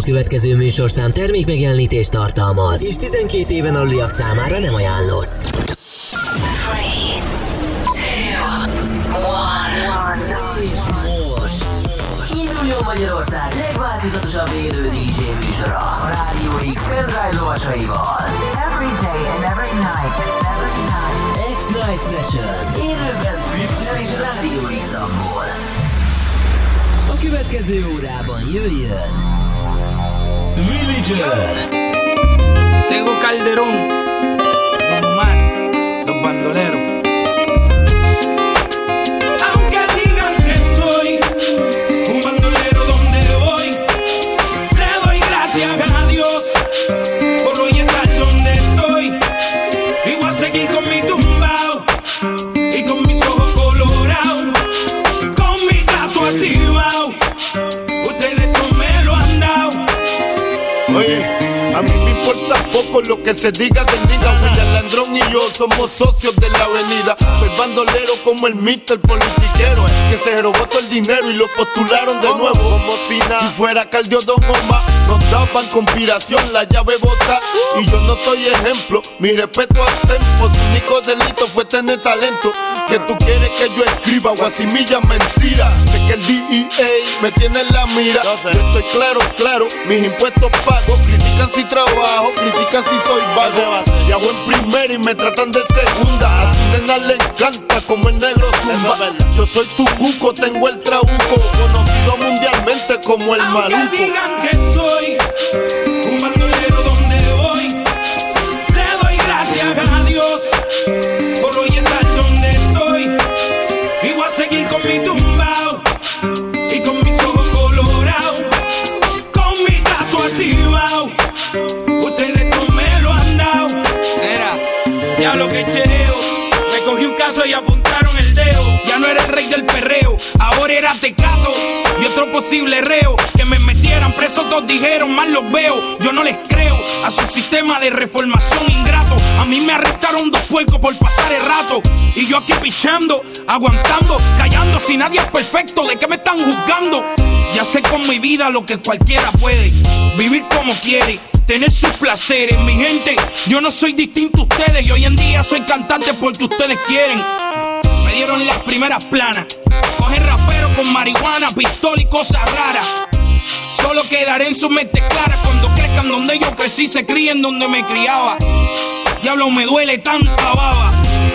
következő műsorszám termékmegjelenítést tartalmaz, és 12 éven aluliak számára nem ajánlott. 3, 2, 1. És most induljon Magyarország legváltozatosabb élő DJ műsora a Rádió X pendrive lovasaival. Every day and every night. X-Night Session. Élőben Twitch-en és Rádió X-amból. A következő órában jöjjön Villager. Tego Calderón, Don Omar, Los Bandoleros. Aunque digan que soy un bandolero donde voy, le doy gracias a Dios por hoy estar donde estoy. Y voy a seguir con mi tumbao y con mis ojos colorados, con mi gato activado. Ustedes no me lo han dado. Oye, a mí me importa poco lo que se diga del nigga. William Landrón y yo somos socios de la avenida. Soy bandolero como el Mr. Politiquero, que se robó todo el dinero y lo postularon de nuevo como si nada. Si fuera Caldio Don Omar, nos daban conspiración, la llave bota. Y yo no soy ejemplo, mi respeto al tempo. Su único delito fue tener talento. Que tú quieres que yo escriba guasimilla mentira. Sé que el DEA me tiene en la mira. Yo estoy claro, mis impuestos pago. Critican si trabajo, critican si soy vago. Viajo en primera y me tratan de segunda. A su nena le encanta como el negro zumba. Yo soy tu cuco, tengo el trabuco, conocido mundialmente como el maluco. Aunque digan que soy un bandolero donde voy, le doy gracias a Dios por hoy estar donde estoy. Y voy a seguir con mi tumbao y con mis ojos colorados, con mi gato activado. Ustedes no me lo han dado. Era, ya lo que chereo. Me cogí un caso y apuntaron el dedo. Ya no era el rey del perreo, ahora era Tecato y otro posible reo. Que me metieran preso, todos dijeron, mal los veo. Yo no les creo a su sistema de reformación ingrato. A mí me arrestaron 2 puercos por pasar el rato. Y yo aquí pichando, aguantando, callando. Si nadie es perfecto, ¿de qué me están juzgando? Ya sé con mi vida lo que cualquiera puede. Vivir como quiere, tener sus placeres. Mi gente, yo no soy distinto a ustedes. Y hoy en día soy cantante porque ustedes quieren. Me dieron las primeras planas. Cogen rapero con marihuana, pistola y cosas raras. Solo quedaré en su mente clara cuando crezcan donde yo crecí, se críen donde me criaba. Diablo, me duele tanta baba.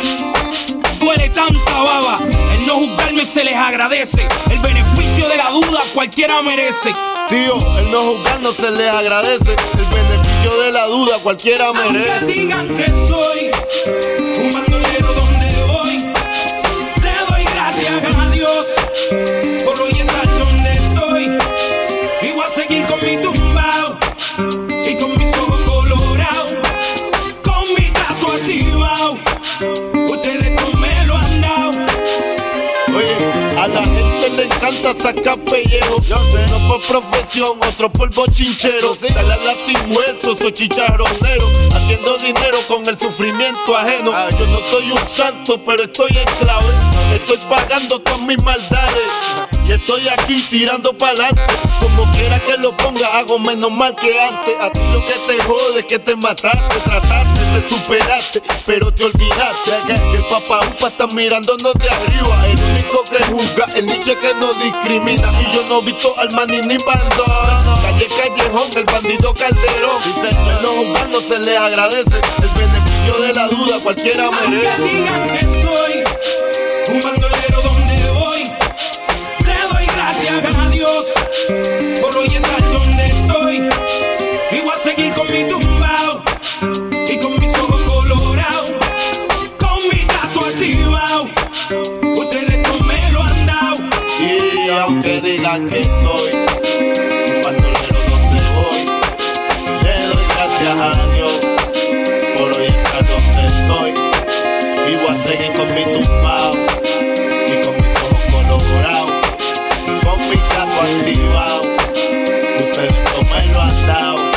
Duele tanta baba. El no juzgarme se les agradece. El beneficio de la duda cualquiera merece. Tío, el no juzgarnos se les agradece. El beneficio de la duda cualquiera merece. Aunque digan que soy un bandolero donde voy, le doy gracias a Dios por hoy estar donde estoy. Y voy a seguir con mi tumbao y con mis ojos colorados, con mi gato activado. Ustedes no me lo han dado. Oye, a la gente le encanta sacar pellejo. Yo sé, no por profesión, otro por bochinchero. Dale a la sin huesos o chicharronero, haciendo dinero con el sufrimiento ajeno. Yo no soy un santo, pero estoy en clave. Estoy pagando con mis maldades y estoy aquí tirando pa'lante. Como quiera que lo ponga, hago menos mal que antes. A ti lo que te jode es que te mataste, trataste, te superaste, pero te olvidaste que el papá upa está mirándonos de arriba. El único que juzga, el niche que no discrimina. Y yo no he visto al maní ni bandón. Calle Callejón, el bandido Calderón. Dice, el no juzgar no se le agradece. El beneficio de la duda cualquiera merece. Aunque digan que soy un bandolero donde voy, le doy gracias a Dios por hoy estar donde estoy. Y voy a seguir con mi tumbao y con mis ojos colorados, con mi gato activado. Ustedes no me lo han dado. Y aunque digan que soy un bandolero donde voy, le doy gracias a Dios por hoy estar donde estoy. Y voy a seguir con mi tumbao y con mis ojos colorados, con mi gato activado. Ustedes no me lo han dado.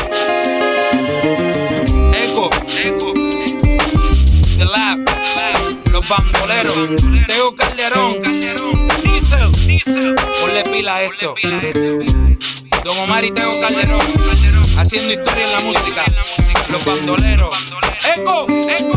Eco, The Lab, Los Bandoleros, Tego Calderón, Diesel, ponle pila a esto. Don Omar y Tego Calderón, haciendo historia en la música. Los bandoleros. ¡Eco! ¡Eco!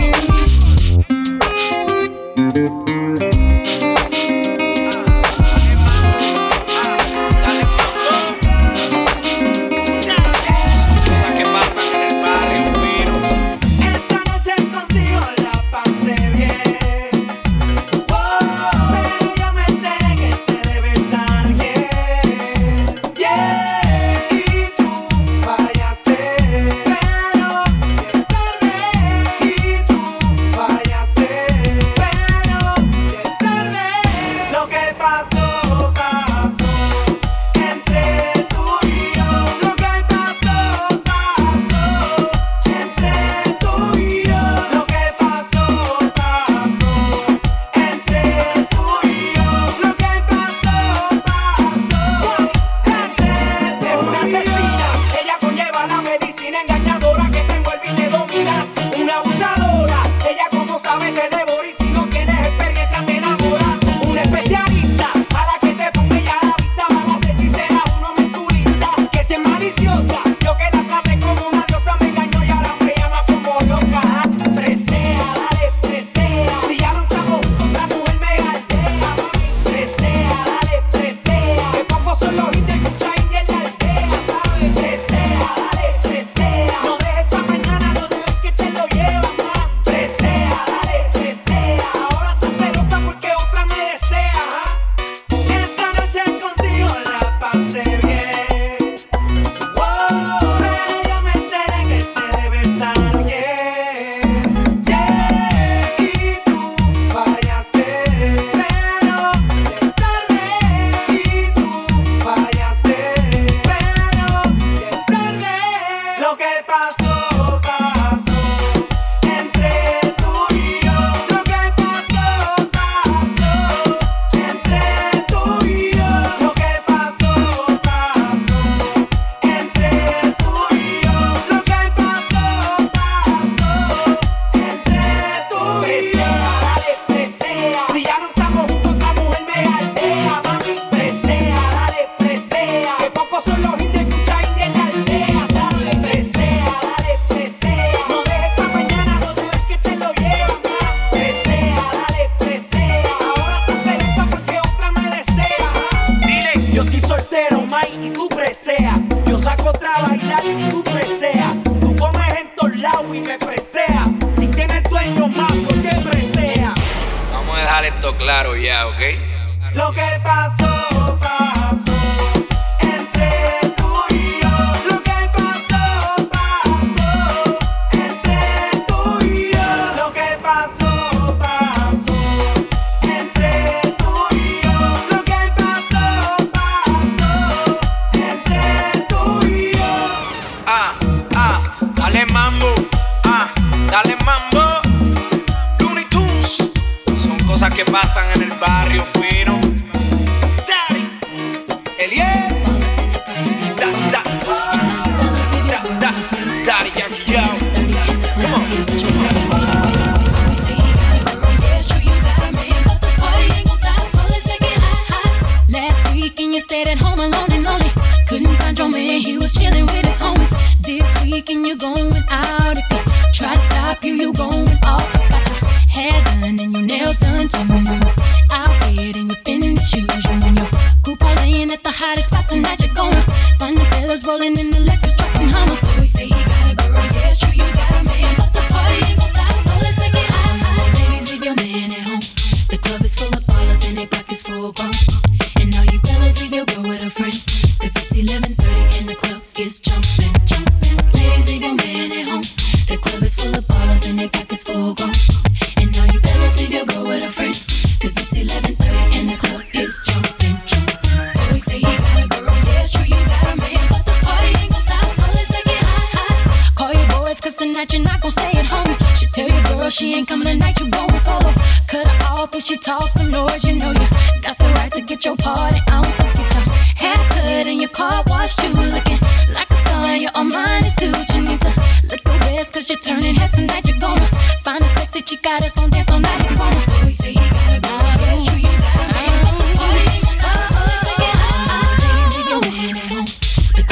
Claro ya, ¿ok? Lo que pasó, pasó entre tú y yo. Lo que pasó, pasó entre tú y yo. Lo que pasó, pasó entre tú y yo. Lo que pasó, pasó entre tú y yo. Dale mambo, dale mambo. Looney Tunes. Son cosas que pasan en el barrio fino. Daddy, Eliel. Daddy, yo. Come on. Last weekend you stayed at home alone and lonely. Couldn't find your man, he was chilling with his homies. This weekend you're going out. If you try to stop you, you going off. Got your hair done and your nails done too. Out there in your fitness shoes, you and your coupe laying at the hottest spot tonight. You're gonna find the fellas rolling in the Lexus trucks and Hummers. So we say he got a girl, yeah it's true you got a man, but the party ain't gon' stop, so let's make it hot. Ladies, leave your man at home. The club is full of ballers and their pockets full grown. And all you fellas, leave your girl with her friends, 'cause it's 11:30 and the club is jumping, jumping. Ladies, leave your man at home. The club is full of ballers and their pockets full grown. And all you fellas, leave your girl with her friends, 'cause it's 11:30 and the club is jumping, jumping. Boys say he got a girl, yeah it's true you got a man, but the party ain't gon' stop, so let's make it hot, hot. Call your boys 'cause tonight you're not gon' stay at home. She tell your girl she ain't coming tonight, you going solo. Cut her off if she talks some noise, you know you got the right to get your party on. So get your hair cut and your car washed too, looking like a star in your Armani suit. You need to look your best 'cause you're turning heads tonight. You're gonna find a sexy chica that's gon' dance all night if you wanna. Always say he got a girl, yeah it's true you got a man, but the party ain't gon' stop, so let's make it hot. Ladies, leave your man at home. The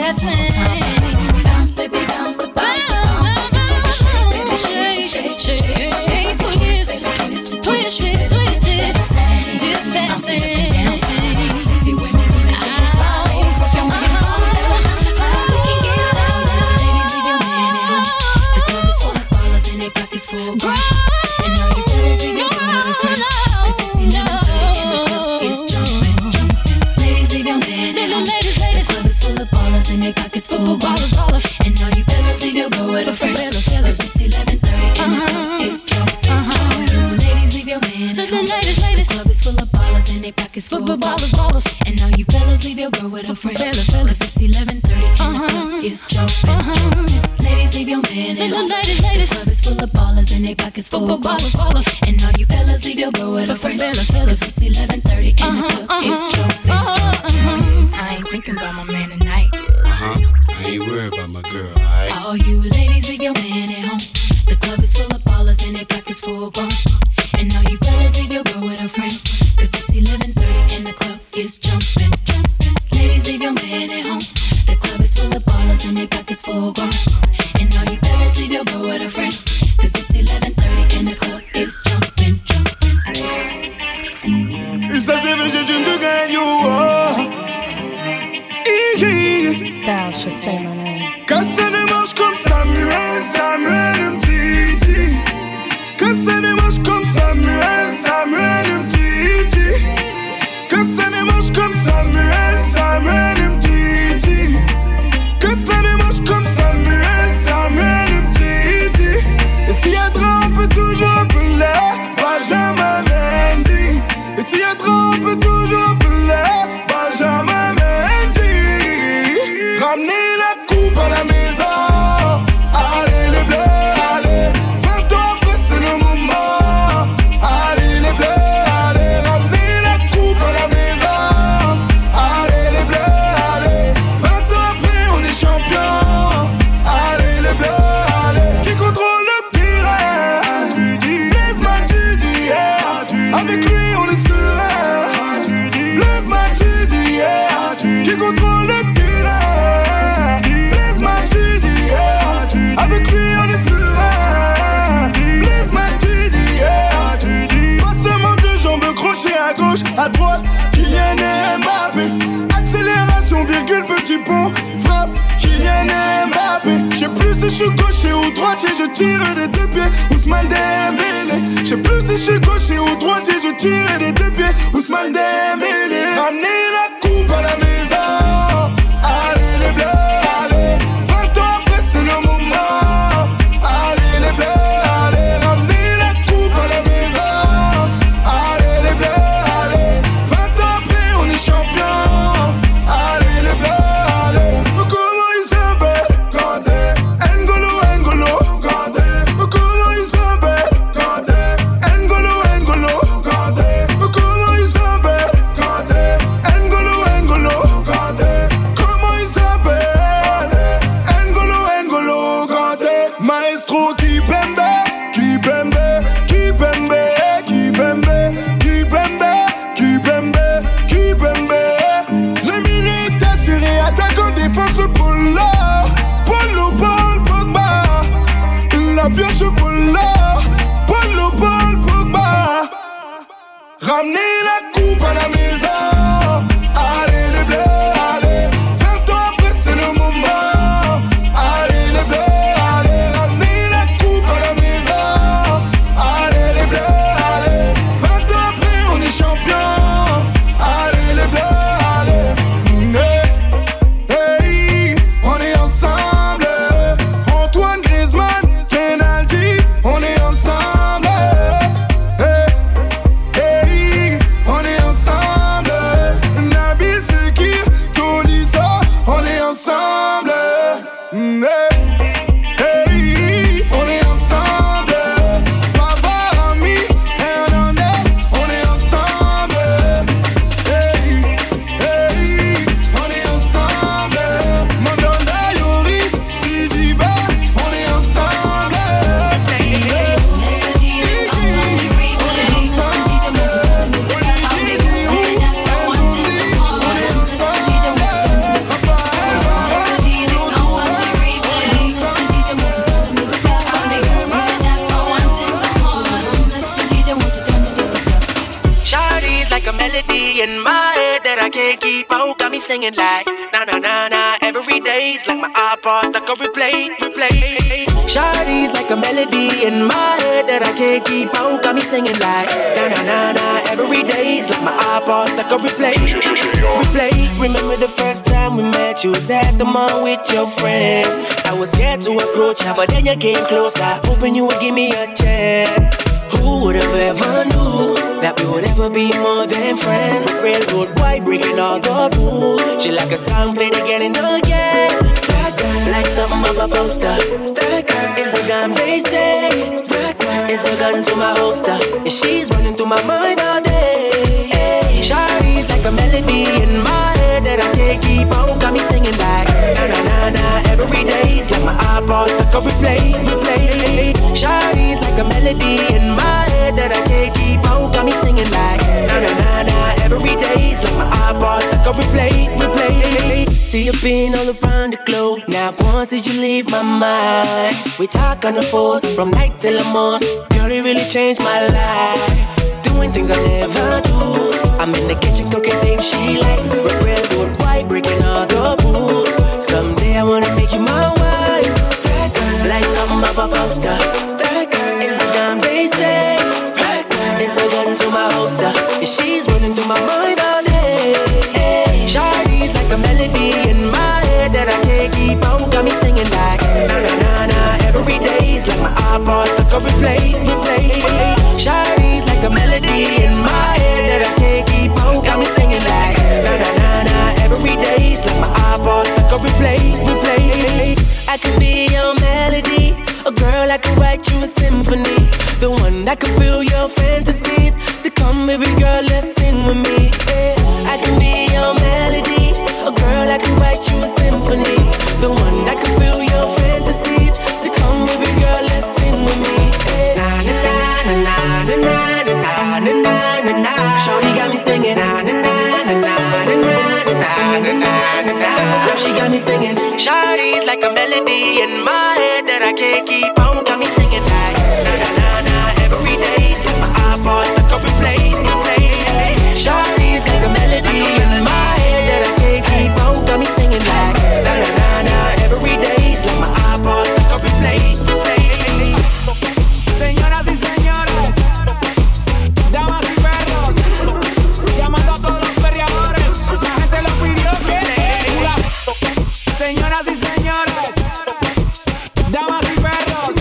last thing. Bounce, baby, bounce, the bounce, shake, twist it, dip that thing. Sexy women do the dance vibes, work your money on us. We can get down, ladies, leave your man at home. The club is full of ballers and their pockets full of gold. And all you fellas leave your girl with friends, 'cause it's 11:30 and the club is jumping. Ladies, leave your man at home. The club is full of ballers and their pockets full of ballers. And all you fellas leave your girl with her friends, 'cause it's 11:30 and the club is jumping. Ladies, leave your man at home. The club is full of ballers and their pockets full of ballers. And now you fellas leave your girl with her friends, 'cause it's 11:30 and the club is jumping. Ladies, leave your man at home. The club is full of ballers and their pockets full of ballers. And now you fellas leave your girl with her friends, 'cause it's 11:30 and the club is jumping. I ain't thinking about my man tonight. I ain't worried about my girl, alright? All you ladies, leave your man at home. The club is full of ballers and their pockets full of gold. And now you fellas leave your girl with her friends, 'cause it's 11:30 and the club is jumping. Ladies, leave your man at home. The club is full of ballers and their pockets full of gold. And now you fellas leave your girl with her friends, 'cause it's 11:30 and the club is jumping. Et ça c'est vrai, je ne gagne. Thou shalt say my name. Que ça démarche comme Samuel, Samuel Mtiti. Que ça démarche comme Samuel, Samuel Mtiti. Que ça démarche comme Samuel, Samuel Mtiti. Que ça démarche comme Samuel, Samuel Mtiti. Et s'il y a trop, on peut toujours appeler Benjamin Mendy. Et s'il y a trop, on peut toujours appeler Benjamin Mendy. Ramenez la coupe à la maison. Allez les bleus, allez. 20 ans après c'est le moment. Allez les bleus, allez. Ramenez la coupe à la maison. Allez les bleus, allez. 20 ans après on est champion. Allez les bleus, allez. Qui contrôle le terrain? Blaise Matuidi, yeah. Avec lui on est serein. Blaise Matuidi, yeah. Qui contrôle le terrain? Avec lui on est serein. Blaise Matuidi, yeah. Passement de jambes crochet à gauche, à droite, Kylian Mbappé. Accélération, virgule, petit pont, frappe, Kylian Mbappé. Je sais plus si je suis gaucher ou droitier, je tire des deux pieds, Ousmane Dembélé. Je sais plus si je suis gaucher ou droitier, je tire des deux pieds, Ousmane Dembélé. Ramenez la coupe à la maison. Allez les bleus, allez. 20 ans après c'est le moment. Allez les bleus, allez. Ramenez la coupe à la maison. Allez les bleus, allez. 20 ans après on est champion. Allez les bleus, allez. Comment ils s'appellent? Kandé, N'Golo, N'Golo, Kandé. Comment ils s'appellent? Kandé, N'Golo, N'Golo, Kandé. Comment ils s'appellent? Kandé, N'Golo, N'Golo, Kandé. Comment ils s'appellent? N'Golo, N'Golo, Kandé. Maestro Kipembe, Kipembe, Kipembe, Kipembe, Kipembe, Kipembe, Kipembe. Les minutes assurées, attaquant, défense, Polo, Polo, Paul, Pogba. La pioche, Polo, Polo, Paul, Pogba. Ramenez la coupe à la maison. Allez les bleus, allez. 20 ans après c'est le moment. Allez les bleus, allez. Ramenez la coupe à la maison. Allez les bleus, allez. 20 ans après on est champion. Allez les bleus, allez. Hey, on est ensemble. Antoine Griezmann, penalty, on est ensemble. Hey, on est ensemble. me singing like na na na na. Every day's like my iPod stuck on replay. Shawty's like a melody in my head that I can't keep out. Got me singing like na na na na. Every day's like my iPod stuck on replay. Remember the first time we met? You was at the mall with your friend. I was scared to approach her, but then you came closer, hoping you would give me a chance. Who would have ever knew that we would ever be more than friends? Railroad white, breaking all the rules. She like a song played again and again. That girl, like something of a poster. That girl is a gun, they say. That girl is a gun to my holster. And she's running through my mind all day. Hey, Shawty's like a melody in my head that I can't keep out. Got me singing like na na na na. Every day's like my iPod stuck on replay. Shawty's like a melody in my head that I can't keep out. Got me singing like na na na na. Every day's like my iPod stuck on replay. See you been all around the globe. Now once did you leave my mind? We talk on the phone from night till the morning. Girl, it really changed my life. Doing things I never do. I'm in the kitchen cooking things she likes. Railroad white, breaking all the rules. Someday I wanna make you my wife. That girl, like something of a poster. That girl is a gun, they say. That girl is a gun to my holster. And she's running through my mind all day. Hey, Shawty's like a melody in my head that I can't keep out. Got me singing like na na na na. Every day's like my iPod stuck on replay. Shawty's like a melody in my head that I can't keep out. Got me singing like na na na na. Every day's like my iPod stuck on replay. I can be your melody, a girl I can write you a symphony, the one that can fill your fantasies. So come baby girl, let's sing with me. Yeah. I can be your melody, a girl I can write you a symphony, the one that can fill your fantasies. So come baby girl, let's sing with me. Yeah. Na na na na na na na na na na. Shorty got me singing na na na na na na na na na. Now she got me singing. Shawty's like a melody in my head that I can't keep out. Got me singing like na na na na. Every day's like my iPod stuck on replay. Shawty's like a melody in my head that I can't keep out. Got me singing like na na na na. Every day's like my iPod stuck on replay. Señoras y señores, damas y perros, llamando a todos los perreadores, la gente lo pidió que señoras y señores, damas y perros,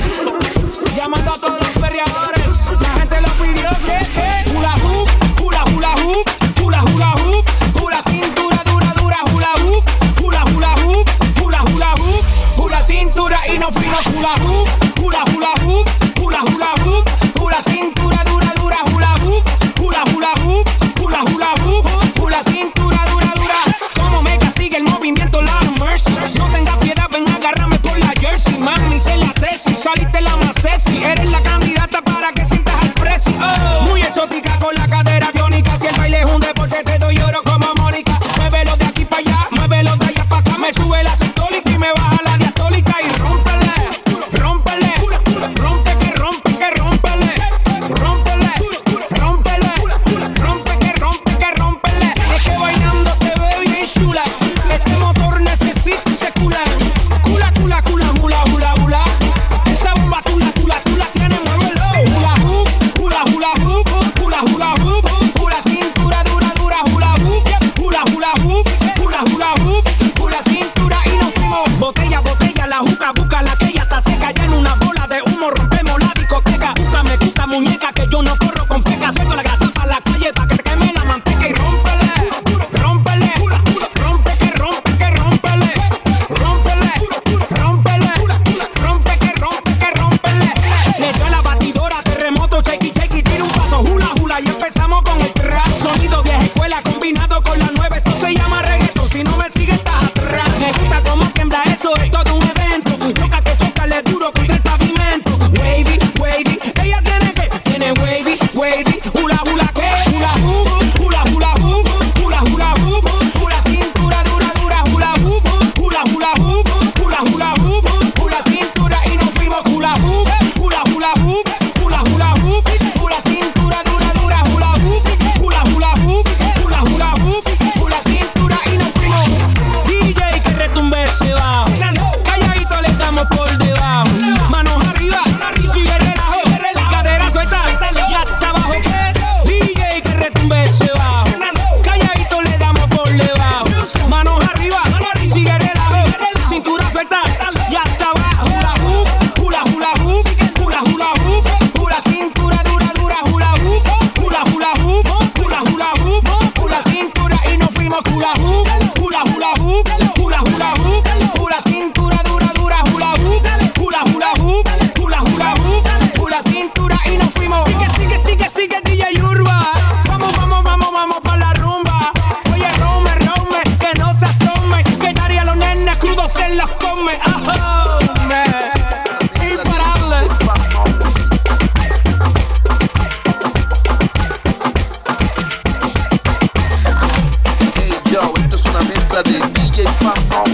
DJ Pam.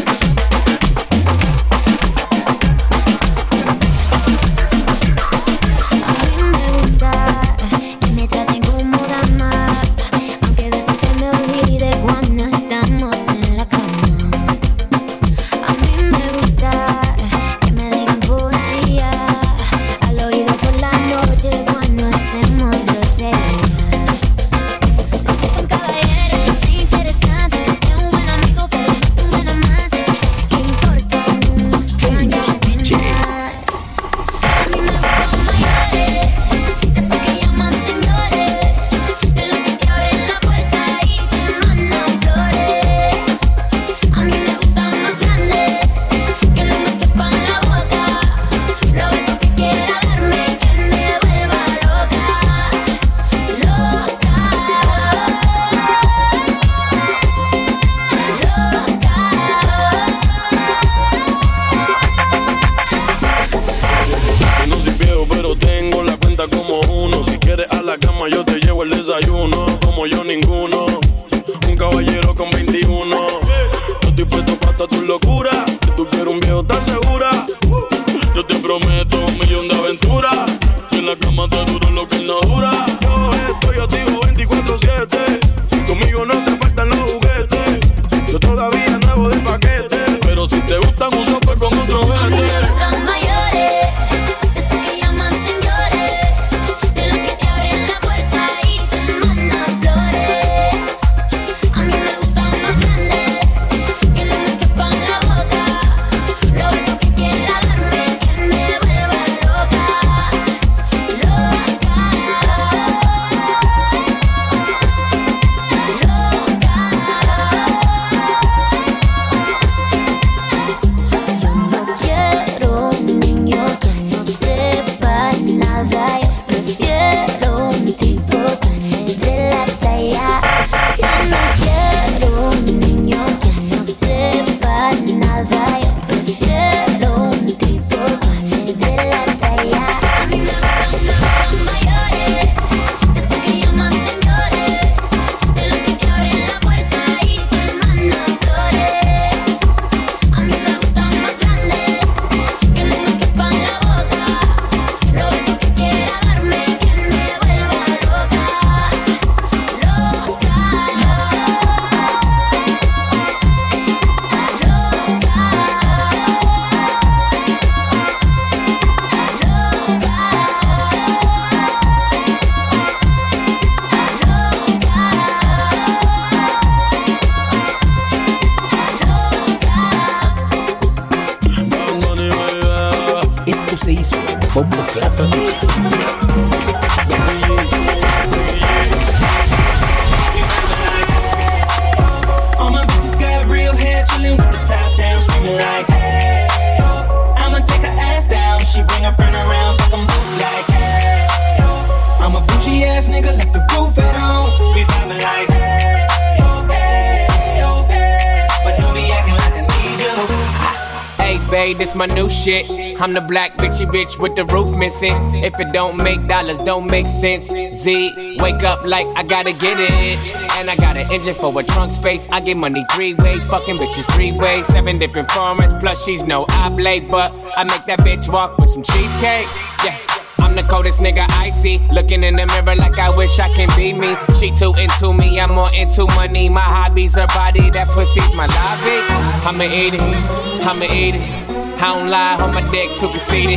This my new shit. I'm the black bitchy bitch with the roof missing. If it don't make dollars, don't make sense. Z, wake up like I gotta get it. And I got an engine for a trunk space. I get money 3 ways, fucking bitches 3 ways. 7 different formats, plus she's no oblate. But I make that bitch walk with some cheesecake. Yeah, I'm the coldest nigga I see. Looking in the mirror like I wish I can be me. She too into me, I'm more into money. My hobby's her body, that pussy's my lobby. I'ma eat it, I'ma eat it. I don't lie, on my dick too conceited.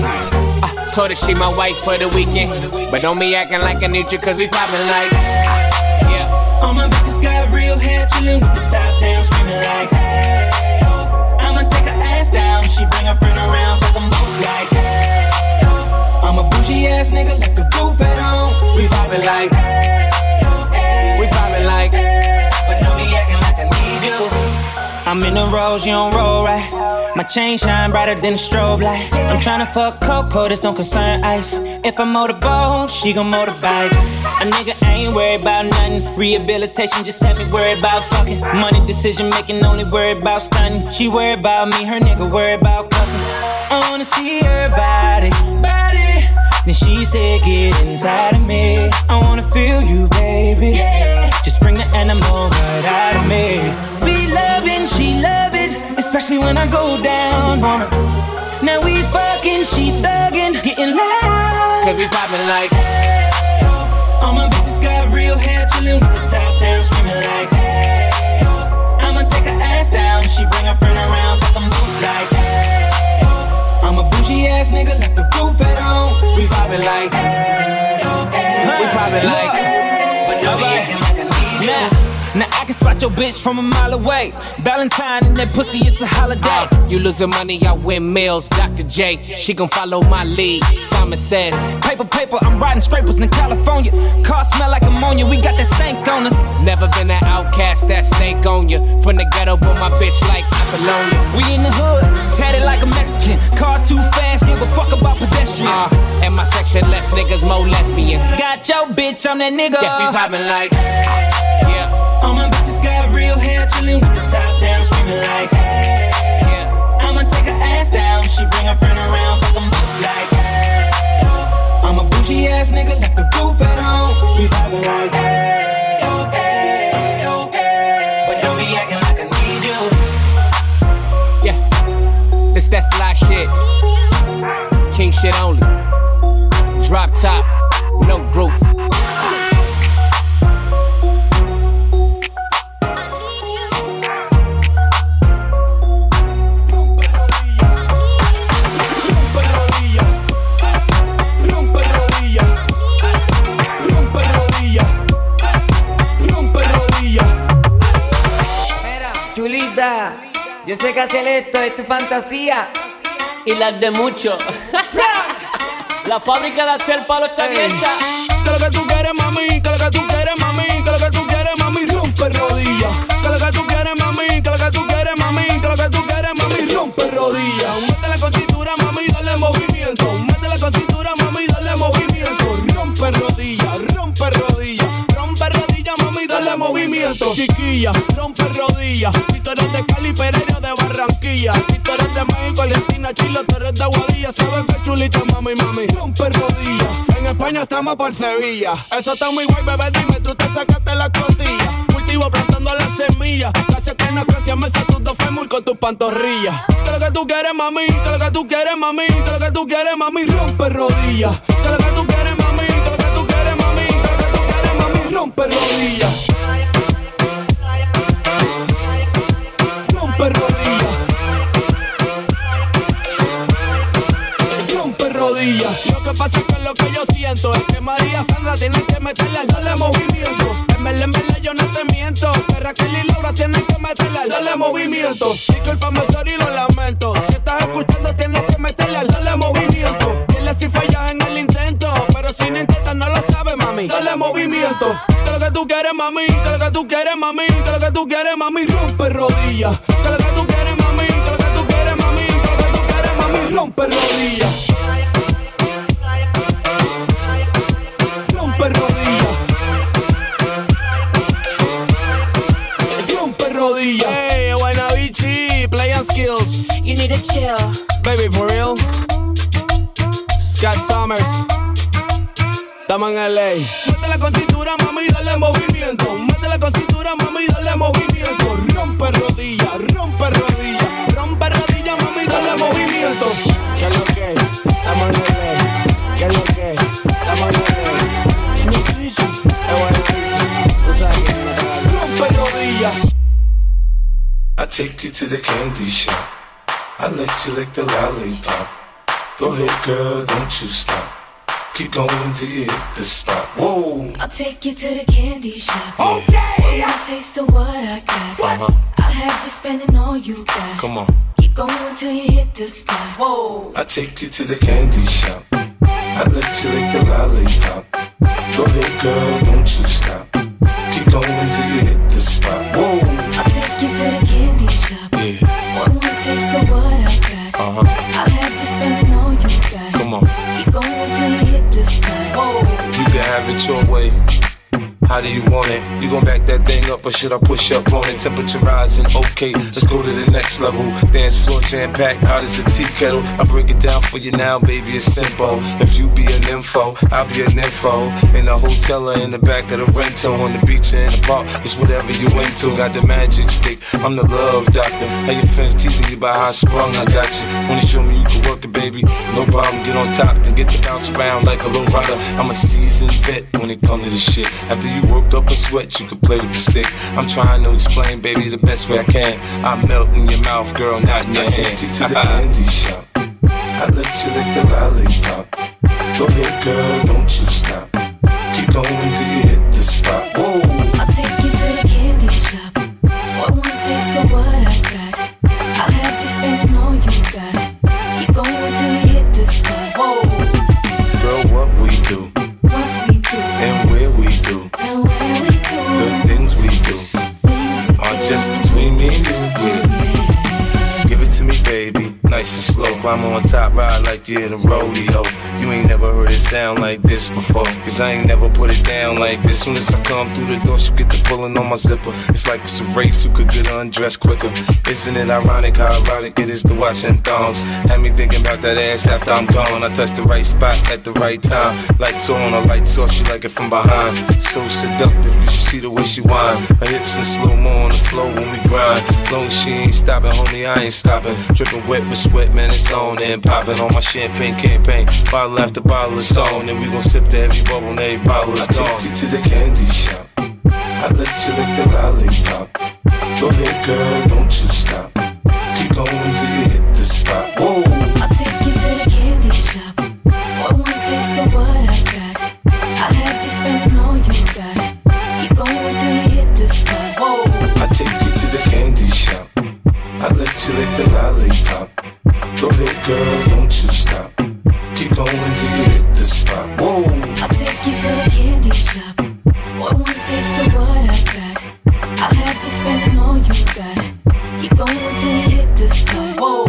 I told her she my wife for the weekend, but don't be acting like I need you cause we poppin' like yeah. All my bitches got real hair, chillin' with the top down, screamin' like hey, oh. I'ma take her ass down, she bring her friend around, fuck them both like hey, oh. I'm a bougie ass nigga, like the roof at home. We poppin' like hey, oh, hey, we poppin' like hey, but don't be acting like I need you. I'm in the rose, you don't roll right. My chain shine brighter than a strobe light. I'm tryna fuck Coco, this don't concern ice. If I motorboat, she gon' motorbike. A nigga ain't worried about nothing. Rehabilitation just had me worried about fucking. Money decision making, only worried about stunning. She worried about me, her nigga worried about cuffing. I wanna see her body. Then she said, get inside of me. I wanna feel you, baby. Just bring the animal right out of me. We loving, she loving. especially when I go down on her. Now we fucking, she thuggin', getting loud. Cause we poppin' like, hey, oh. All my bitches got real hair, chillin' with the top down, screamin' like, hey, oh. I'ma take her ass down, she bring her friend around, fuck them both like, hey, oh. I'm a bougie ass nigga, left the roof at home. We poppin' like, hey, oh, hey. We poppin' like, hey, but don't be acting like I need you. Now I can spot your bitch from a mile away. Valentine and that pussy, it's a holiday. You losing money, I win meals. Dr. J, she gon' follow my lead. Simon says, paper, paper, I'm riding scrapers in California. Car smell like ammonia, we got that stank on us. Never been an outcast, that snake on you. From the ghetto, but my bitch like Apollonia. We in the hood, tatted like a Mexican. Car too fast, give a fuck about pedestrians. And my section, less niggas, more lesbians. Got your bitch, I'm that nigga. Yeah, we poppin' like, yeah. All my bitches got real hair, chillin' with the top down, screamin' like, hey, yeah. I'ma take her ass down, she bring her friend around, fuck them both like, hey, oh. I'm a bougie ass nigga, left the roof at home. We poppin' like, hey, oh, hey, oh, hey. But don't be acting like I need you. Yeah, this that fly shit. King shit only. Drop top, no roof. Yo sé que hacer esto es tu fantasía y las de muchos. La fábrica de hacer palo está abierta. Que lo que tú quieres, mami, que lo que tú quieres, mami, que lo que tú quieres, mami, rompe rodillas. Que lo que tú quieres, mami, que lo que tú quieres, mami, que lo que tú quieres, mami, rompe rodillas. Métele con cintura, mami, dale movimiento. Métele con cintura, mami, dale movimiento. Rompe rodillas, rompe rodillas. Rompe rodillas, mami, dale movimiento. Chiquilla, rompe rodillas. Si tú eres de Cali, Pereira, de Barranquilla. Si tú eres de México, Argentina, Chile, tú eres de Aguadilla. Sabes que chulita, mami, mami, rompe rodillas. En España estamos por Sevilla. Eso está muy guay, bebé, dime, tú te sacaste la costilla. Cultivo plantando las semillas. Casi que no casi me sé tus dos fémur con tus pantorrillas. Que lo que tú quieres, mami, que lo que tú quieres, mami, que lo que tú quieres, mami, rompe rodillas. Que lo que tú quieres, mami, que lo que tú quieres, mami, que lo que tú quieres, mami, rompe rodillas. Rompe rodillas. Rompe rodillas. Lo que pasa es que lo que yo siento es que María Sandra tiene que meterle al dale movimiento. En verdad yo no te miento. Que Raquel y Laura tienen que meterle al dale movimiento. Discúlpame, sorry, lo lamento. Si estás escuchando tienes que meterle al dale movimiento. Dile si fallas en el intento, pero si no intentas no lo sabes, mami. Dale movimiento. Que lo que tú quieres, mami, que lo que tú quieres, mami, que lo que tú quieres, mami, rompe rodillas. Que lo que tú quieres, mami, que lo que tú quieres, mami, que lo que tú quieres, mami, rompe rodillas. Rompe rodillas. Rompe rodillas. Hey, Guaynabichi, playing skills. You need to chill. Baby, for real. Scott Summers. Estamos en LA. Métele con cintura, mami, dale movimiento. Métele con cintura, mami, dale movimiento. Rompe rodillas, rompe rodillas. Rompe rodillas, mami, dale movimiento. ¿Qué es lo que? Estamos en LA. ¿Qué es lo que? Estamos en LA. Rompe rodillas. I take you to the candy shop. I let you lick the lollipop. Go ahead, girl, don't you stop. Keep going till you hit the spot. Whoa. I'll take you to the candy shop. Okay. Wanna taste of what I got. I'll have you spending all you got. Come on. Keep going till you hit the spot. Whoa. I take you to the candy shop. I let you lick the lollipop. Go ahead, girl, don't you stop. Keep going till you hit the spot. Whoa. I'll take you to the candy shop. Yeah. One more taste of what I got. I'll have you spending all you got. Come on. Keep going till you hit the spot. Whoa. You can have it your way. How do you want it? You gon' back that thing up or should I push up on it? Temperature rising, okay, let's go to the next level. Dance floor jam-packed, hot as a tea kettle. I break it down for you now, baby, it's simple. If you be an info, I'll be an info. In a hotel or in the back of the rental, on the beach or in the park, it's whatever you into. Got the magic stick, I'm the love doctor. How your friends teasing you about how I sprung, I got you. Wanna show me you can work it, baby? No problem, get on top, then get to bounce around like a low rider. I'm a seasoned vet when it comes to this shit. After you work up a sweat, you can play with the stick. I'm trying to explain, baby, the best way I can. I melt in your mouth, girl, not in your hand. Take you to the candy shop. I let you lick the lollipop. Go ahead, girl, don't you stop. Keep going till you hit the spot. Whoa. I'll take you to the candy shop. For one taste of what I got, I'll have you spending all you got. Keep going till you hit the spot. Whoa. Girl, what we do, and where we do, the things we do are just between me and you. Yeah. Give it to me, baby, nice and slow. Climb on top, ride like you're in a rodeo. You ain't never heard it sound like this before, cause I ain't never put it down like this. Soon as I come through the door, she get the pulling on my zipper. It's like it's a race, who could get undressed quicker. Isn't it ironic how ironic it is to watch in thongs? Had me thinking about that ass after I'm gone. I touch the right spot at the right time. Lights on, or lights off, she like it from behind. So seductive, you should see the way she whine. Her hips in slow-mo on the floor when we grind. Long as she ain't stopping, homie, I ain't stopping. Dripping wet with sweat, man, it's on and popping on my champagne campaign. Bottle after bottle is on, and we gon' sip to every bubble and every bottle is gone. I take you to the candy shop. I let you lick the lollipop. Go ahead, girl, don't you stop. Keep going till you hit the spot. Whoa. I'll take you to the candy shop. For one taste of what I got, I'll have you spending all you got. Keep going till you hit the spot. Whoa. I take you to the candy shop. I let you lick the lollipop. Go ahead, girl, don't you stop. Keep going till you hit the spot. Whoa. I'll take you to the candy shop. For one taste of what I got, I'll have you spending all you got. Keep going till you hit the spot. Whoa.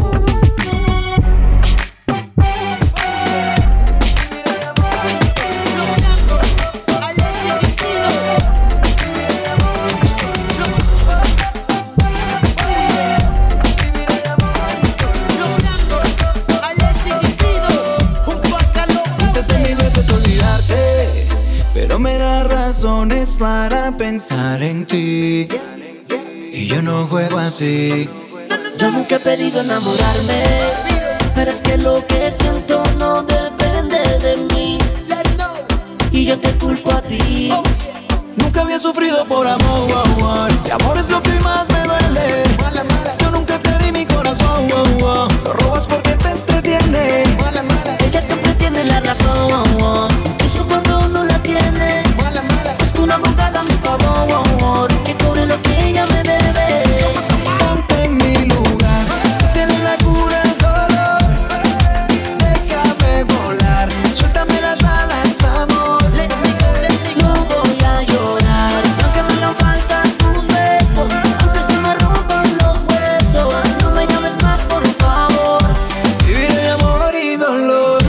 Pero me da razones para pensar en ti, y yo no juego así. Yo nunca he pedido enamorarme, pero es que lo que siento no depende de mí, y yo te culpo a ti. Nunca había sufrido por amor, y amor es lo que más me duele. Yo nunca te di mi corazón, lo robas porque te entretiene. Ella siempre tiene la razón, eso cuando uno la tiene. Busco una abogada a mi favor, que cobre lo que ella me debe. Ponte en mi lugar, tienes la cura del dolor. Déjame volar, suéltame las alas, amor. No voy a llorar, aunque me hagan falta tus besos, aunque se me rompan los huesos. No me llames más, por favor. Viviré de amor y dolor.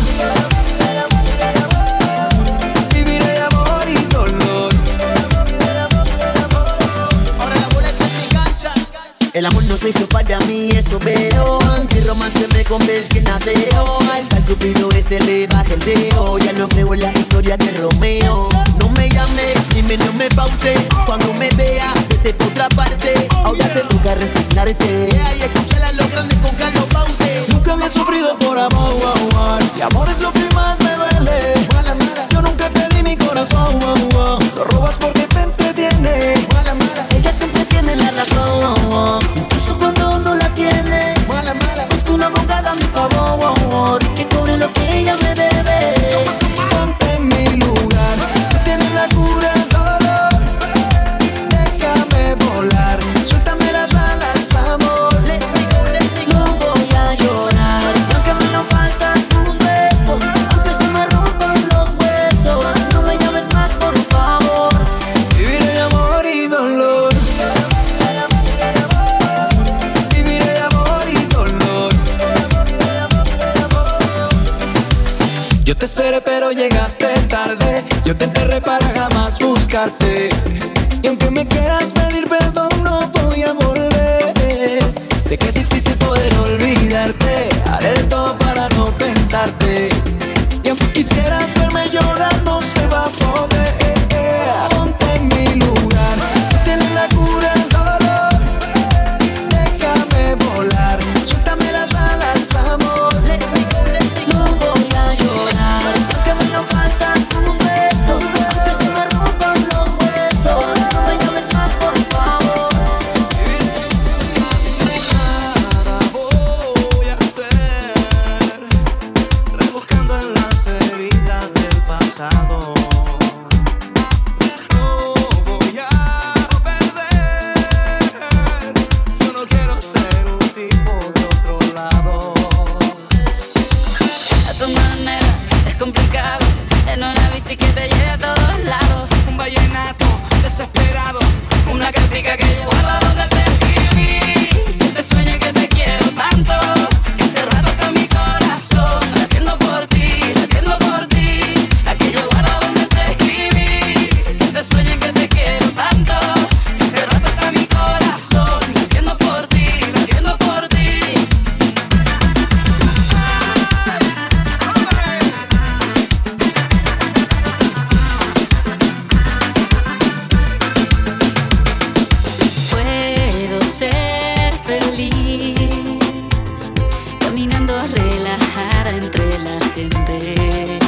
Viviré de amor y dolor. El amor no se hizo para mí, eso veo. Anti-romance me convierte en ateo. Al tal cupido ese le baja el dedo. Ya no creo en la historia de Romeo. No me llame, ni menos me paute. Cuando me vea, vete por otra parte. Ahora te toca resignarte. Y escúchala a los grandes con Carlos Baute. Nunca había sufrido por amor, y amor es lo que más me duele. Yo nunca te di mi corazón, lo robas porque te entretiene. Ella siempre tiene la razón, incluso cuando no la tiene. Busco una abogada a mi favor, que cobre lo que ella me debe. Ponte en mi lugar, tú tienes la cura del dolor. Déjame volar, suéltame las alas, amor. No voy a llorar, aunque me hagan falta tus besos, aunque se me rompan los huesos. No me llames más, por favor. Viviré de amor y dolor. Viviré de amor y dolor. Yo te esperé pero llegaste tarde. Yo te enterré para jamás buscarte. Y aunque me quieras pedir perdón, no voy a volver. Sé que es difícil poder olvidarte. Haré de todo para no pensarte. Y aunque quisieras verme llorar, no se va a poder. Ponte en mi lugar. Tú tienes la cura del dolor. Déjame volar. Suéltame las alas, amor. No voy a llorar, porque me no faltan tus besos. Aunque se me rompan los huesos, no me llames más, por favor. Nada voy a hacer, rebuscando en las heridas del pasado. No voy a perder. Yo no quiero ser un tipo de otro lado. A tu manera es complicado, en una bici que te lleve a todos lados. Un vallenato desesperado, una crítica que yo guardo donde te escribí. Que te sueñe que te quiero tanto, que hace rato está mi corazón latiendo por ti, latiendo por ti. Aquí yo guardo donde te escribí. Que te sueñe que te quiero tanto, que hace rato está mi corazón latiendo por ti, latiendo por ti. Puedo ser feliz caminando relajada entre la gente.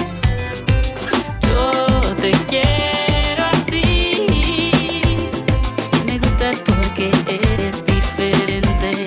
Yo te quiero así y me gustas porque eres diferente.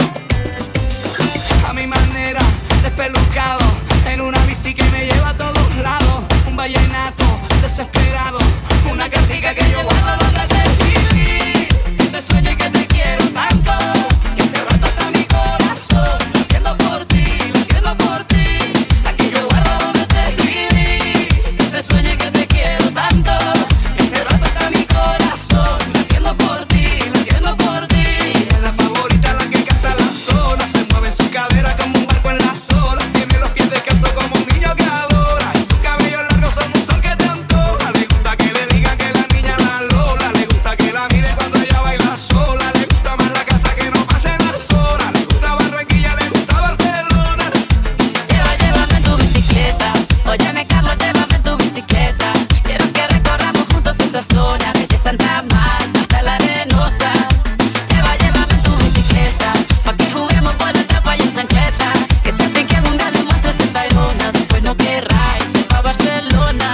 A mi manera, despelucado, en una bici que me lleva a todos lados. Un vallenato desesperado, una cartica que yo guardo donde te escribí. Que te sueñe que te quiero tanto, que hace rato está mi corazón latiendo por ti, latiendo por ti. Aquí yo guardo donde te escribí. Que te sueñe que te quiero tanto, que hace rato está mi corazón latiendo por ti, latiendo por ti. Es la favorita, la que canta la sola. Se mueve su cadera como un barco en las olas. Tiene los pies descalzos como un niño que adora. Y sus cabellos largos son un sol que te antoja. Le gusta que le digan que la niña la Lola. Le gusta que la mire cuando ella baila sola. Le gusta más la casa que no pasen las horas. Le gusta Barranquilla, le gusta Barcelona. Llévame en tu bicicleta. Óyeme, Carlos, llévame en tu bicicleta. Quiero que recorramos juntos esta zona, desde Santa Marta hasta la Arenosa. Llévame en tu bicicleta, pa' que juguemos por el tapa y en chancleta. Que siempre que algún día le muestres en Tayrona, después no querráis ir pa' Barcelona.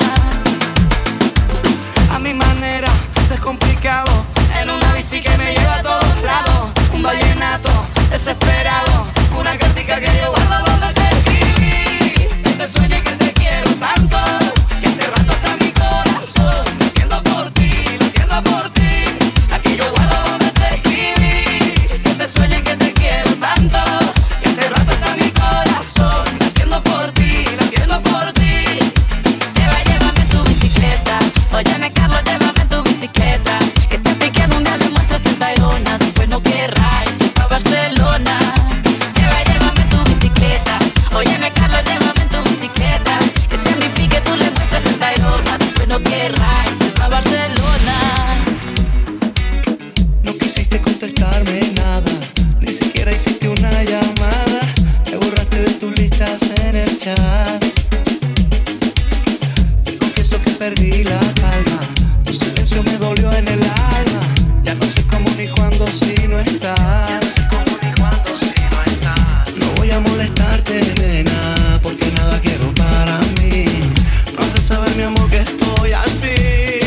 A mi manera, descomplicado, en una bici que me lleva a todos lados. Un vallenato desesperado, una cartica que yo guardo donde te escribí. Que te sueñe que te quiero tanto, que hace rato está mi corazón latiendo por ti, latiendo por ti. Aquí yo guardo donde te escribí. Que te sueñe que te quiero tanto, que hace rato está mi corazón latiendo por ti, latiendo por ti. Llévame en tu bicicleta. Óyeme, Carlos, llévame en tu bicicleta. Que siempre que algún día le muestres en Tayrona, después no querráis ir pa' Barcelona. Llévame en tu bicicleta. Óyeme, Carlos, llévame en tu bicicleta. Que sea mi pique tú le muestres en Tayrona, después no querráis ir pa' Barcelona. No quisiste contestarme nada, ni siquiera hiciste una llamada. Me borraste de tus listas en el chat. Te confieso que perdí la calma, tu silencio me dolió en el alma. Ya no sé cómo ni cuándo si no estás. No voy a molestarte, nena, porque nada quiero para mí. No has de saber, mi amor, que estoy así,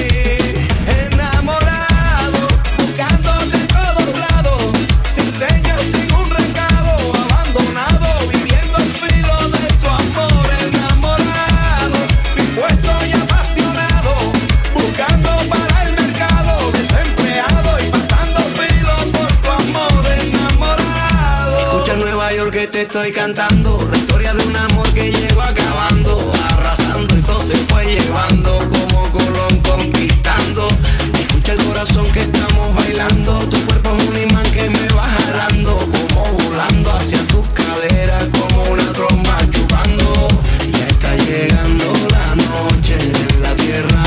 enamorado, buscándote en todos lados, sin señas, sin un recado, abandonado, viviendo al filo de tu amor. Enamorado, dispuesto y apasionado, buscando para el mercado, desempleado y pasando filo por tu amor. Enamorado. Escucha Nueva York que te estoy cantando, la historia de un amor que llegó acabando, arrasando y todo se fue llevando, como Colón conquistando. Escucha el corazón que estamos bailando, tu cuerpo es un imán que me va jalando, como volando hacia tus caderas, como una tromba chupando. Ya está llegando la noche en la tierra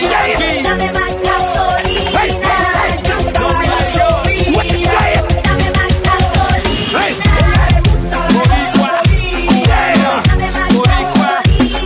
say? Dame más gasolina. Hey, hey, hey. Dame más gasolina. What you say? Dame más gasolina. Hey. Boricua, yeah. Dame más gasolina.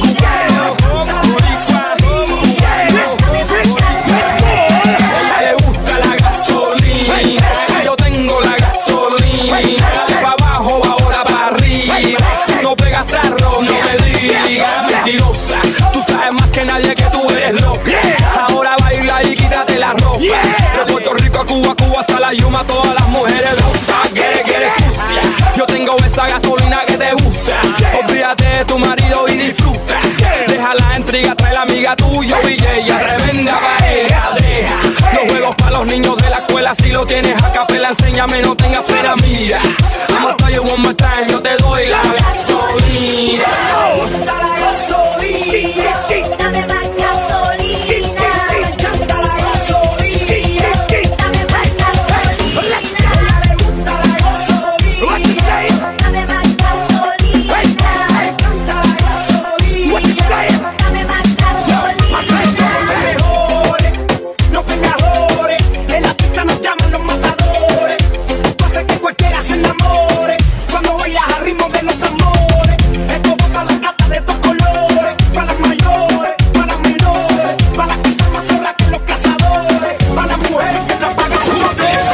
Ella le gusta la gasolina. Yo tengo la gasolina. Pa' abajo, ahora pa' arriba. No pegas tarro, no me digas. Mentirosa, tú sabes más que nadie que tú eres loca. Ahora baila y quítate la ropa. De Puerto Rico a Cuba, Cuba hasta la Yuma, todas las mujeres locas. Que eres sucia. Yo tengo esa gasolina que te gusta. Olvídate de tu marido y disfruta. Deja la intriga, trae la amiga tuya y ella tremenda pareja. Deja los juegos para los niños de la escuela. Si lo tienes a capela, enséñame, no tengas pena. Mira, I'ma tell you one more time, yo te doy la gasolina. La gasolina. Dame más gasolina. Canta la gasolina. Dame más gasolina. Ella le gusta la gasolina. What you say? Dame más gasolina. Canta la gasolina. What you say? Dame más gasolina. No tengas errores. En la pista nos llaman los matadores. Tú haces que cualquiera se enamore cuando bailas al ritmo de los tambores. Esto va para las gatas de dos colores, para las mayores, para las menores, para las que son más zorras que los cazadores, para las mujeres que trabajan con motores.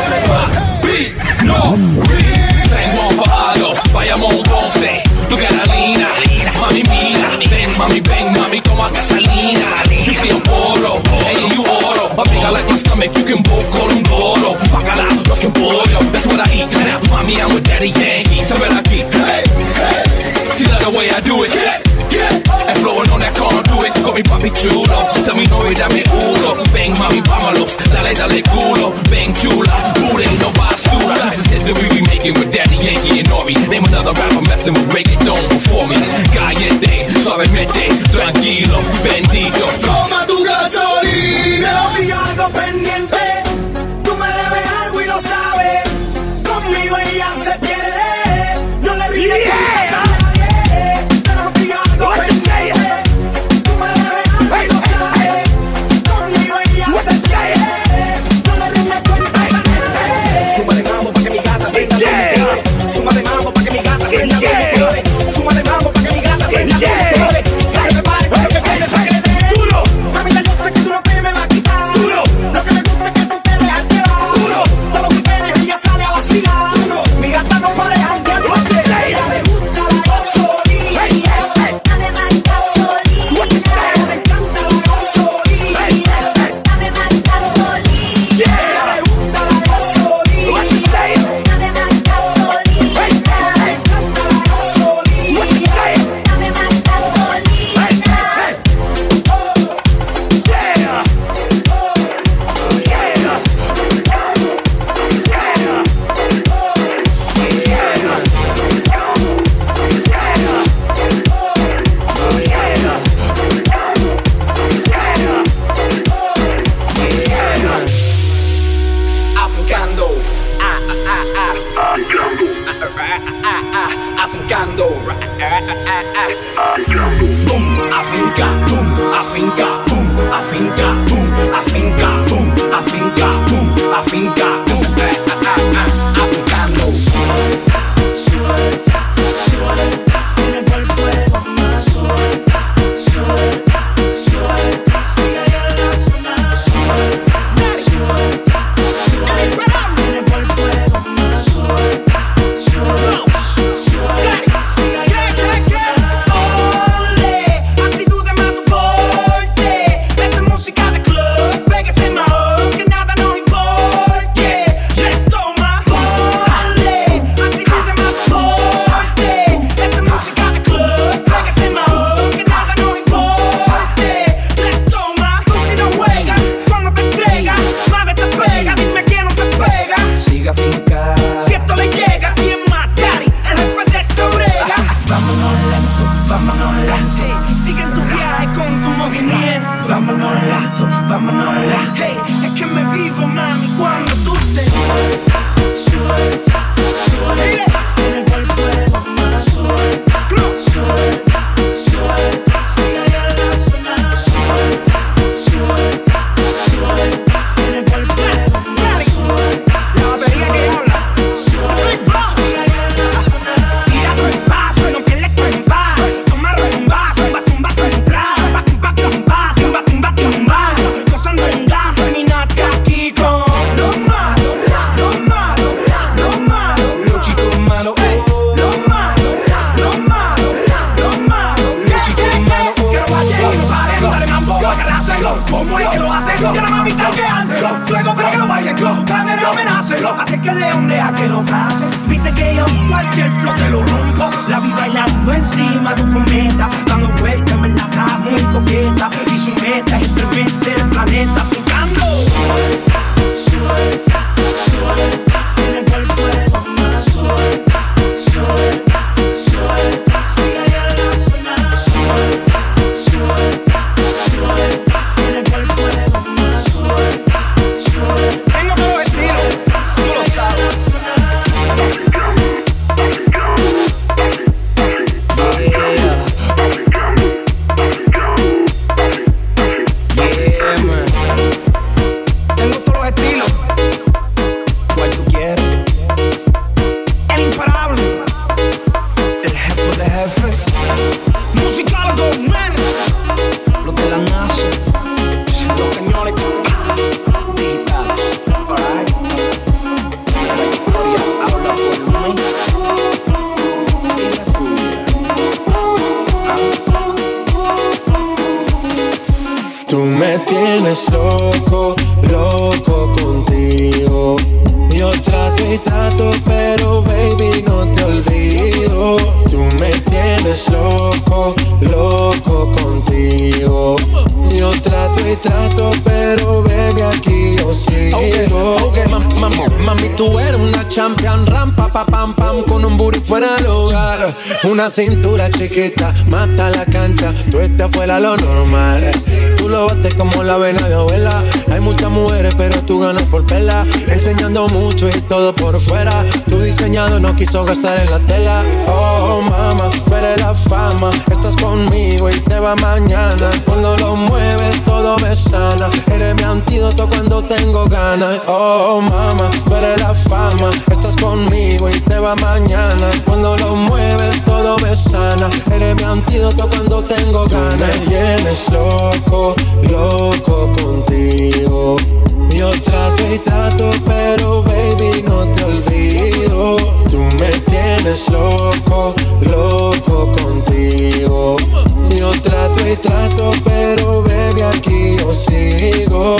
No, tengo enfadado, vayamos un ponce, tu Carolina, mami mira, ven mami toma gasolina, you see I'm oro, hey you oro, my big I like my stomach, you can both call them Goro, bacala, los que pollo, that's what I eat, mami I'm with Daddy Yankee, so ven aquí, hey, see the way I do it, and flowing on that corner, do it, call me papi chulo, tell me no y dame uno, ven mami vámonos, dale culo, ven chula, booty no basura, this is history we making with Daddy Yankee and Nori, name another rapper messing with reggaeton before me, caliente, suavemente, tranquilo, bendito, Toma tu gasolina. Contigo algo pendiente. Tú me debes algo y lo sabes. Conmigo ella se pierde. No le rindes a nadie. Pero contigo algo pendiente. Tú me debes algo y lo sabes. seco que la mami está quejándolo. Fuego para que lo bailen, con su cadera amenácelo. Así que el león deja que lo case. Viste que yo cualquier flow te lo rompo. La vi bailando encima de un cometa, dando vueltas en la cama muy coqueta. Y su meta es estremecer el planeta, picando. Suelta, suelta, suelta. En el cuerpo de bomba. Suelta, suelta, suelta. Sigue ya la zona. Suelta, suelta, suelta. En el cuerpo de bomba. Suelta, suelta. Tengo todo estilo, tú lo sabes. Tienes loco, loco contigo. Yo trato y trato, pero baby no te olvido. Tú me tienes loco, loco contigo. Yo trato y trato, pero baby aquí yo sigo. Okay, mami, tú eres una champion, rampa, pa, pam, pam, con un booty fuera del hogar. Una cintura chiquita, mata la cancha, tú estás fuera lo normal. Tú lo bates como la vena de abuela. Hay muchas mujeres, pero tú ganas por pela. Enseñando mucho y todo por fuera. Tu diseñado no quiso gastar en la tela. Oh, mama, tú eres la fama. Estás conmigo y te va mañana. Cuando lo mueves, todo me sana. Eres mi antídoto cuando tengo ganas. Oh, mama, tú eres la fama. Estás conmigo y te va mañana. Cuando lo mueves, todo me sana. Eres mi antídoto cuando tengo ganas. Tú me tienes loco, loco contigo. Yo trato y trato, pero baby no te olvido. Tú me tienes loco, loco contigo. Yo trato y trato, pero baby aquí yo sigo.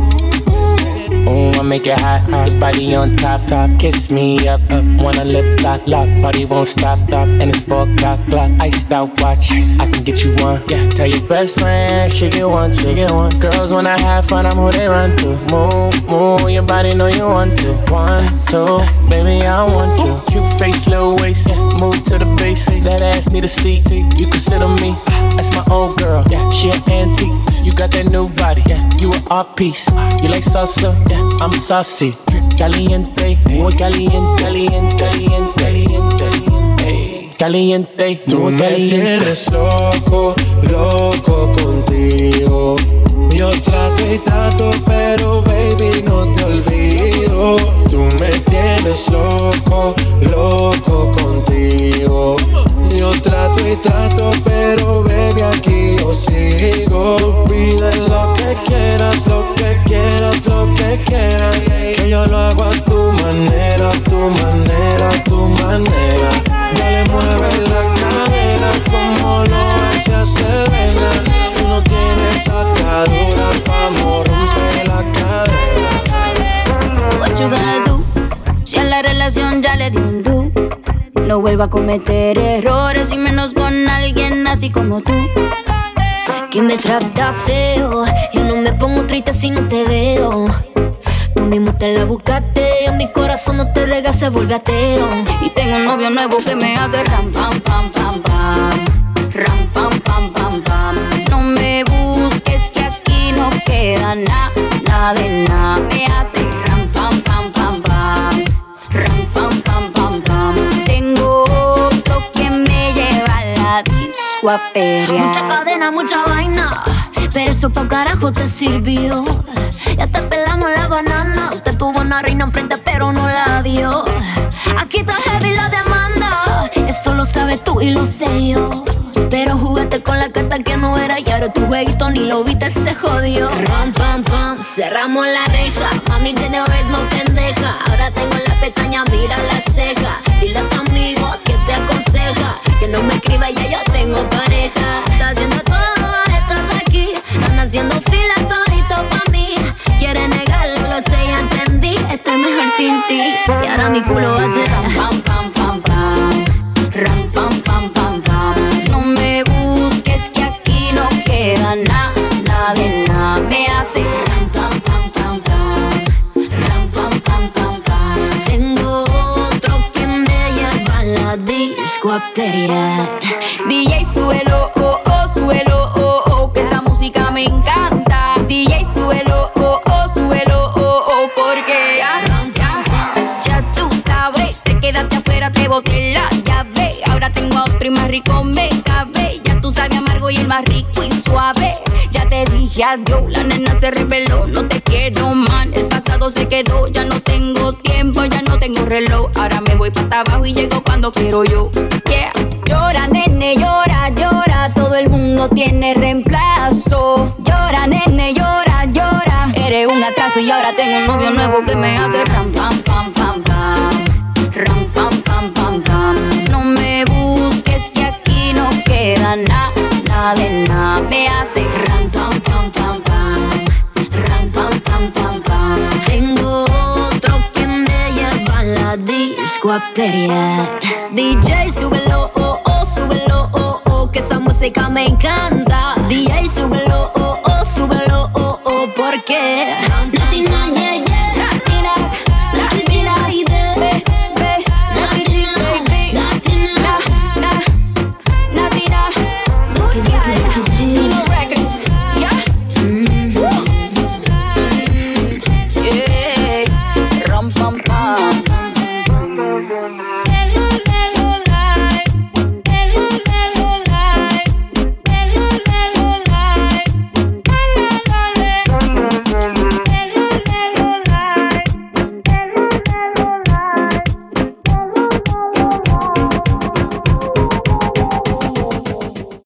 Oh, I make it hot, hot. Body on top, top. Kiss me up, up. Wanna lip lock, lock. Party won't stop, stop. And it's 4 o'clock, clock. Iced out watch. I can get you one. Yeah. Tell your best friend she get one, she get one. Girls when I have fun, I'm who they run to. Move, move. Your body know you want to. 1, 2, baby I want you. Cute face, little waist. Yeah. Move to the basics. That ass need a seat. You can sit on me. That's my old girl. Yeah. She an antique. You got that new body. Yeah. You an art piece. You like salsa? Yeah. I'm saucy, caliente, muy caliente, caliente, caliente, caliente, caliente. Tú me tienes loco, loco contigo. Yo trato y trato, pero baby no te olvido. Tú me tienes loco, loco contigo. Yo trato y trato, pero baby aquí yo sigo. Tú pides lo que quieras, lo que quieras, lo que quieras. Que yo lo hago a tu manera, a tu manera, a tu manera. Dale, mueve la cadera como lo hace Selena. Tú no tienes atadura, vamos, rompe la cadera. What you gonna do? Si a la relación ya le di un do. No vuelva a cometer errores y menos con alguien así como tú, que me trata feo. Yo no me pongo triste si no te veo. Tú mismo te la buscaste, en mi corazón no te rega, se vuelve ateo. Y tengo un novio nuevo que me hace ram pam pam pam pam, ram pam pam pam pam. No me busques que aquí no queda nada de nada. Me hace ram pam pam pam pam, ram pam pam pam pam. Tengo otro que me lleva a la disco a perrear. Mucha cadena, mucha vaina, pero eso pa' carajo te sirvió. Ya te pelamos la banana. Usted tuvo una reina enfrente pero no la dio. Aquí está heavy la demanda. Eso lo sabes tú y lo sé yo. Pero jugaste con la carta que no era y ahora tu jueguito ni lo viste, se jodió. Ram, pam, pam, cerramos la reja. Mami tiene ritmo pendeja. Ahora tengo la pestaña, mira la ceja. Dile a tu amigo que te aconseja que no me escriba, ya yo tengo pareja. Está haciendo todo, estás aquí. Están haciendo fila todito pa' mí. ti y ahora mi culo hace pam, pam, pam, pam, ram, pam, pam, pam, pam. No me busques que aquí no queda nada de nada. Me hace ram, pam, pam, pam, pam, ram, pam, pam, pam, pam. Tengo otro que me lleva a la disco a pelear. DJ, súbelo, oh, oh, súbelo, oh, oh, que esa música me encanta. DJ, súbelo, oh, oh, súbelo, oh, oh, porque ya tú sabes, te quedaste afuera, te boté la llave. Ahora tengo a otro y más rico me cabe. Ya tú sabes amargo y el más rico y suave. Ya te dije adiós, la nena se reveló, no te quiero man. El pasado se quedó, ya no tengo tiempo, ya no tengo reloj. Ahora me voy para abajo y llego cuando quiero yo. Yeah. Llora, nene, llora, llora. Todo el mundo tiene reemplazo. Llora, nene, llora, llora. Eres un atraso y ahora tengo un novio nuevo que me hace ram, pam, pam, pam, pam, ram, pam, pam, pam, pam. No me busques que aquí no queda nada de nada. Me hace ram, pam, pam, pam, pam, ram, pam, pam, pam, pam. Tengo otro que me lleva a la disco a pelear. DJ, súbelo, oh, oh, súbelo, oh, oh, que esa música me encanta. DJ, súbelo, oh, oh, súbelo, oh, oh, porque